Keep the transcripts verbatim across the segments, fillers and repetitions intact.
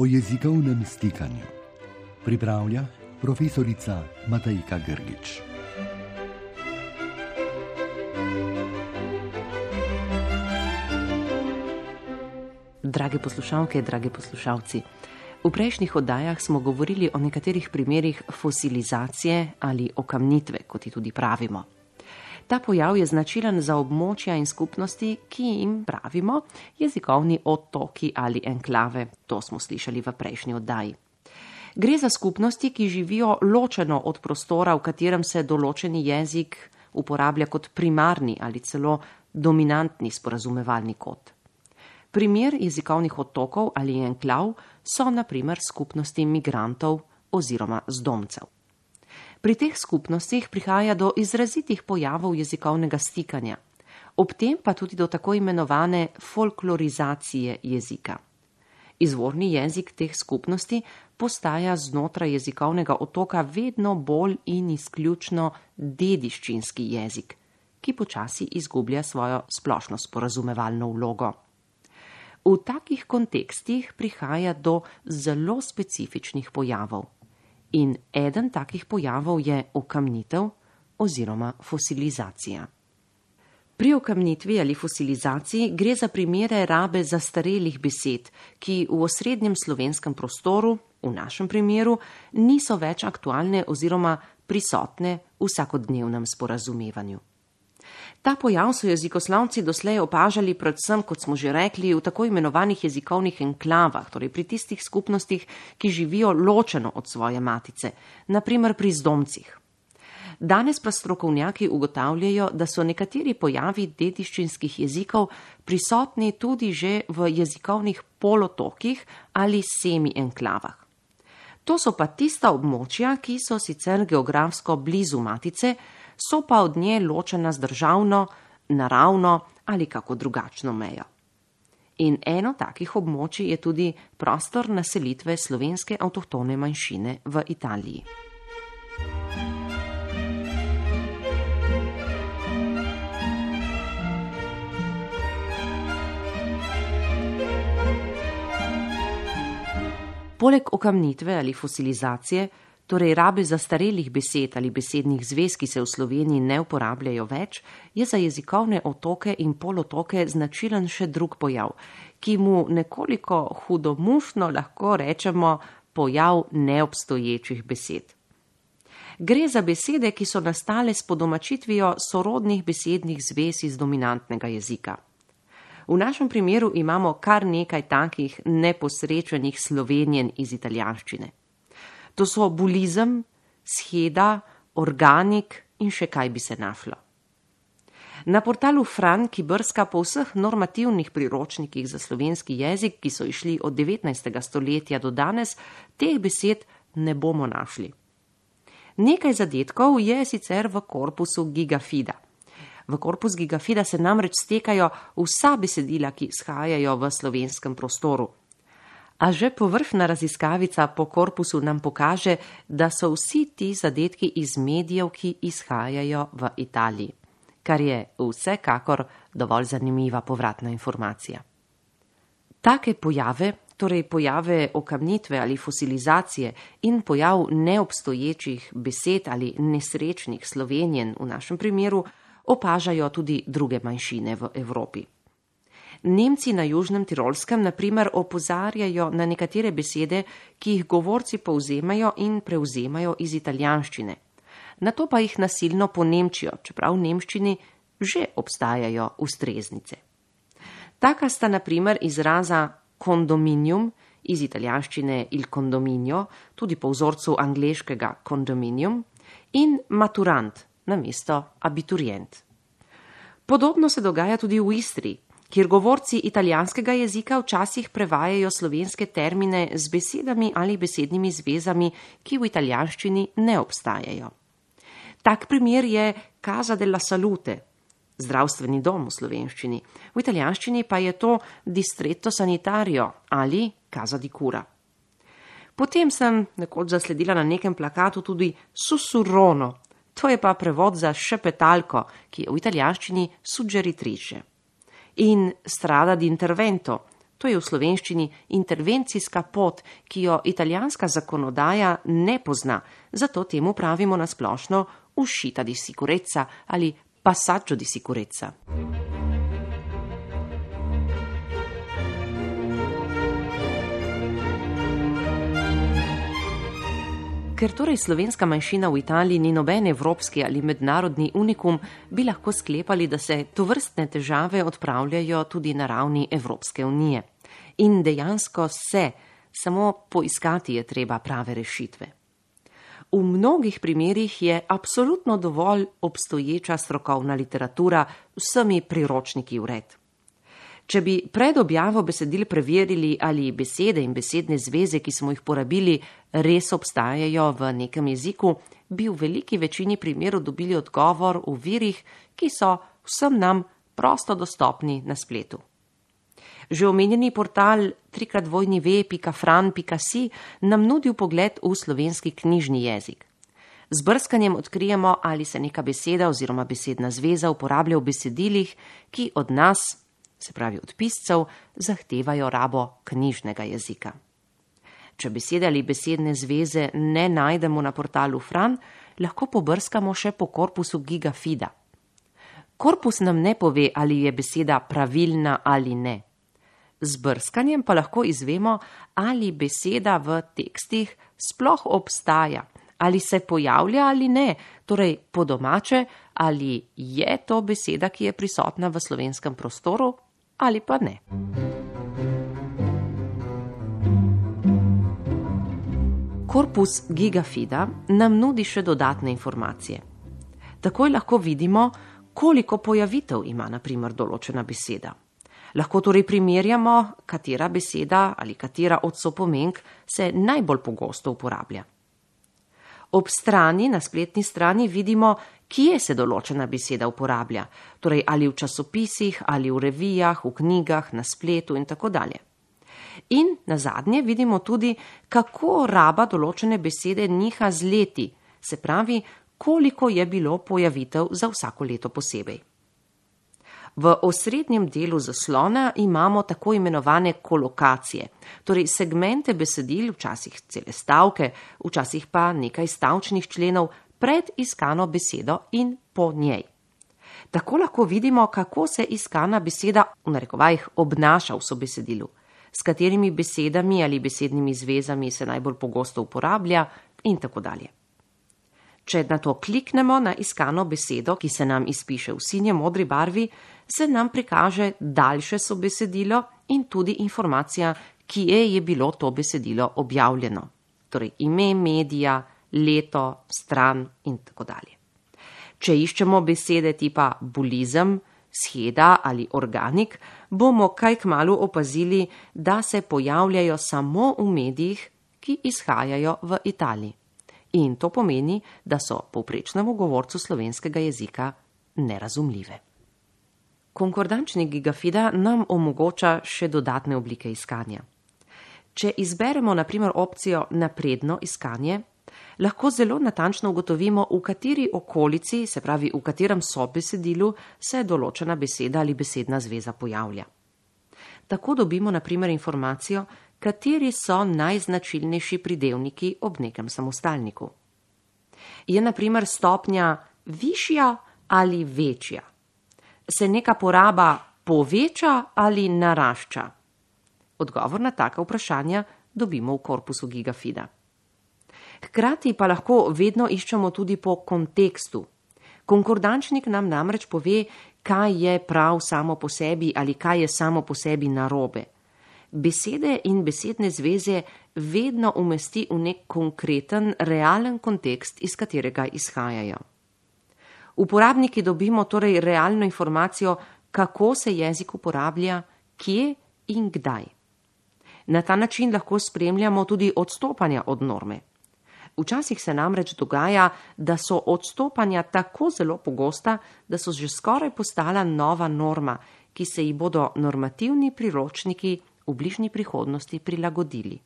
o jezikovnem stikanju. Pripravlja profesorica Matejka Grgič. Drage poslušalke, dragi poslušalci, v prejšnjih oddajah smo govorili o nekaterih primerih fosilizacije ali okamnitve, kot ji tudi pravimo. Ta pojav je značilen za območja in skupnosti, ki jim pravimo jezikovni otoki ali enklave. To smo slišali v prejšnji oddaji. Gre za skupnosti, ki živijo ločeno od prostora, v katerem se določeni jezik uporablja kot primarni ali celo dominantni sporazumevalni kod. Primer jezikovnih otokov ali enklav so na primer skupnosti migrantov oziroma zdomcev. Pri teh skupnostih prihaja do izrazitih pojavov jezikovnega stikanja, ob tem pa tudi do tako imenovane folklorizacije jezika. Izvorni jezik teh skupnosti postaja znotraj jezikovnega otoka vedno bolj in izključno dediščinski jezik, ki počasi izgublja svojo splošno sporazumevalno vlogo. V takih kontekstih prihaja do zelo specifičnih pojavov. In eden takih pojavov je okamnitev oziroma fosilizacija. Pri okamnitvi ali fosilizaciji gre za primere rabe zastarelih besed, ki v osrednjem slovenskem prostoru, v našem primeru, niso več aktualne oziroma prisotne v vsakodnevnem sporazumevanju. Ta pojav so jezikoslovci doslej opažali predvsem, kot smo že rekli, v tako imenovanih jezikovnih enklavah, torej pri tistih skupnostih, ki živijo ločeno od svoje matice, na primer pri zdomcih. Danes pa strokovnjaki ugotavljajo, da so nekateri pojavi dediščinskih jezikov prisotni tudi že v jezikovnih polotokih ali semi-enklavah. To so pa tista območja, ki so sicer geografsko blizu matice, so pa od nje ločena z državno, naravno ali kako drugačno mejo. In eno takih območij je tudi prostor naselitve slovenske avtohtone manjšine v Italiji. Poleg okamnitve ali fosilizacije, torej rabe zastarelih besed ali besednih zvez, ki se v Sloveniji ne uporabljajo več, je za jezikovne otoke in polotoke značilen še drug pojav, ki mu nekoliko hudomušno lahko rečemo pojav neobstoječih besed. Gre za besede, ki so nastale s podomačitvijo sorodnih besednih zvez iz dominantnega jezika. V našem primeru imamo kar nekaj takih neposrečenih slovenjen iz italijanščine. To so bulizem, sheda, organik in še kaj bi se našlo. Na portalu Fran, ki brska po vseh normativnih priročnikih za slovenski jezik, ki so išli od devetnajstega stoletja do danes, teh besed ne bomo našli. Nekaj zadetkov je sicer v korpusu Gigafida. V korpus Gigafida se namreč stekajo vsa besedila, ki izhajajo v slovenskem prostoru. A že površna raziskavica po korpusu nam pokaže, da so vsi ti zadetki iz medijev, ki izhajajo v Italiji, kar je vsekakor dovolj zanimiva povratna informacija. Take pojave, torej pojave okamnitve ali fosilizacije in pojav neobstoječih besed ali nesrečnih slovenjen v našem primeru, opažajo tudi druge manjšine v Evropi. Nemci na Južnem Tirolskem na primer opozarjajo na nekatere besede, ki jih govorci povzemajo in prevzemajo iz italijanščine. Nato pa jih nasilno ponemčijo, čeprav v nemščini že obstajajo ustreznice. Taka sta na primer izraza condominium iz italijanščine il condominio, tudi po vzorcu angleškega condominium, in maturant namesto abiturient. Podobno se dogaja tudi v Istri, kjer govorci italijanskega jezika včasih prevajajo slovenske termine z besedami ali besednimi zvezami, ki v italijanščini ne obstajajo. Tak primer je Casa della Salute, zdravstveni dom v slovenščini, v italijanščini pa je to Distretto Sanitario ali Casa di Cura. Potem sem nekoč zasledila na nekem plakatu tudi sussurrono, to je pa prevod za šepetalko, ki je v italijanščini suggeritrice. In strada di intervento, To je v slovenščini intervencijska pot, ki jo italijanska zakonodaja ne pozna, zato temu pravimo na splošno uscita di sicurezza ali passaggio di sicurezza. Ker torej slovenska manjšina v Italiji ni noben evropski ali mednarodni unikum, bi lahko sklepali, da se tovrstne težave odpravljajo tudi na ravni Evropske unije. In dejansko se, samo poiskati je treba prave rešitve. V mnogih primerih je absolutno dovolj obstoječa strokovna literatura z vsemi priročniki vred. Če bi pred objavo besedil preverili, ali besede in besedne zveze, ki smo jih porabili, res obstajajo v nekem jeziku, bi v veliki večini primerov dobili odgovor v virih, ki so vsem nam prosto dostopni na spletu. Že omenjeni portal tri krat dvojni ve pika fran pika si nam nudi vpogled v slovenski knjižni jezik. Z brskanjem odkrijemo, ali se neka beseda oziroma besedna zveza uporablja v besedilih, ki od nas, se pravi od piscev, zahtevajo rabo knjižnega jezika. Če besede ali besedne zveze ne najdemo na portalu Fran, lahko pobrskamo še po korpusu Gigafida. Korpus nam ne pove, ali je beseda pravilna ali ne. Z brskanjem pa lahko izvemo, ali beseda v tekstih sploh obstaja, ali se pojavlja ali ne, torej po domače, ali je to beseda, ki je prisotna v slovenskem prostoru, ali pa ne. Korpus Gigafida nam nudi še dodatne informacije. Takoj lahko vidimo, koliko pojavitev ima na primer določena beseda. Lahko torej primerjamo, katera beseda ali katera od sopomenk se najbolj pogosto uporablja. Ob strani, na spletni strani, vidimo, kje se določena beseda uporablja, torej ali v časopisih, ali v revijah, v knjigah, na spletu in tako dalje. In nazadnje vidimo tudi, kako raba določene besede niha z leti, se pravi, koliko je bilo pojavitev za vsako leto posebej. V osrednjem delu zaslona imamo tako imenovane kolokacije, torej segmente besedil, včasih cele stavke, včasih pa nekaj stavčnih členov pred iskano besedo in po njej. Tako lahko vidimo, kako se iskana beseda v narekovajih obnaša v sobesedilu, s katerimi besedami ali besednimi zvezami se najbolj pogosto uporablja in tako dalje. Če na to kliknemo na iskano besedo, ki se nam izpiše v sinje modri barvi, se nam prikaže daljše sobesedilo in tudi informacija, kje je bilo to besedilo objavljeno. Torej ime medija, leto, stran in tako dalje. Če iščemo besede tipa bulizem, sheda ali organik, bomo kaj kmalu opazili, da se pojavljajo samo v medijih, ki izhajajo v Italiji. In to pomeni, da so povprečnemu govorcu slovenskega jezika nerazumljive. Konkordančnik Gigafida nam omogoča še dodatne oblike iskanja. Če izberemo na primer opcijo napredno iskanje, lahko zelo natančno ugotovimo, v kateri okolici, se pravi v katerem sobesedilu, se določena beseda ali besedna zveza pojavlja. Tako dobimo na primer informacijo, kateri so najznačilnejši pridevniki ob nekem samostalniku. Je na primer stopnja višja ali večja? Se neka poraba poveča ali narašča? Odgovor na taka vprašanja dobimo v korpusu Gigafida. Hkrati pa lahko vedno iščemo tudi po kontekstu. Konkordančnik nam namreč pove, kaj je prav samo po sebi ali kaj je samo po sebi narobe. Besede in besedne zveze vedno umesti v nek konkreten, realen kontekst, iz katerega izhajajo. Uporabniki dobimo torej realno informacijo, kako se jezik uporablja, kje in kdaj. Na ta način lahko spremljamo tudi odstopanja od norme. Včasih se namreč dogaja, da so odstopanja tako zelo pogosta, da so že skoraj postala nova norma, ki se ji bodo normativni priročniki v bližnji prihodnosti prilagodili.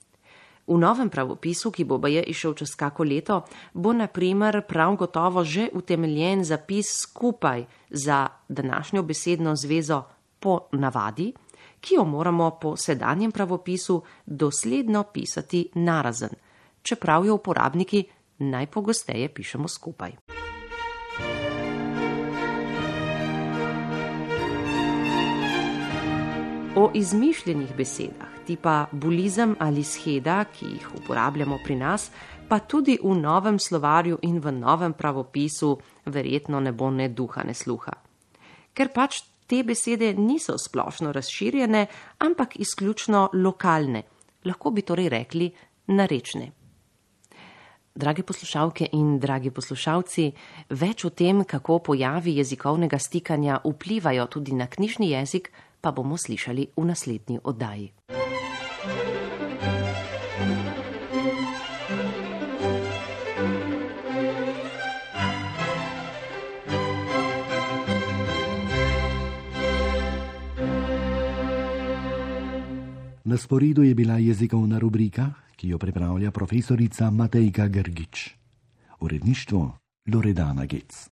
V novem pravopisu, ki bo baje išel čez kako leto, bo na primer prav gotovo že utemeljen zapis skupaj za današnjo besedno zvezo po navadi, ki jo moramo po sedanjem pravopisu dosledno pisati narazen, čeprav jo uporabniki najpogosteje pišemo skupaj. O izmišljenih besedah, tipa bulizem ali sheda, ki jih uporabljamo pri nas, pa tudi v novem slovarju in v novem pravopisu verjetno ne bo ne duha, ne sluha. Ker pač te besede niso splošno razširjene, ampak izključno lokalne, lahko bi torej rekli narečne. Drage poslušalke in dragi poslušalci, več o tem, kako pojavi jezikovnega stikanja vplivajo tudi na knjižni jezik, pa bomo slišali v naslednji oddaji. Na sporedu je bila jezikovna rubrika, ki jo pripravlja profesorica Matejka Grgič. Uredništvo Loredana Gec.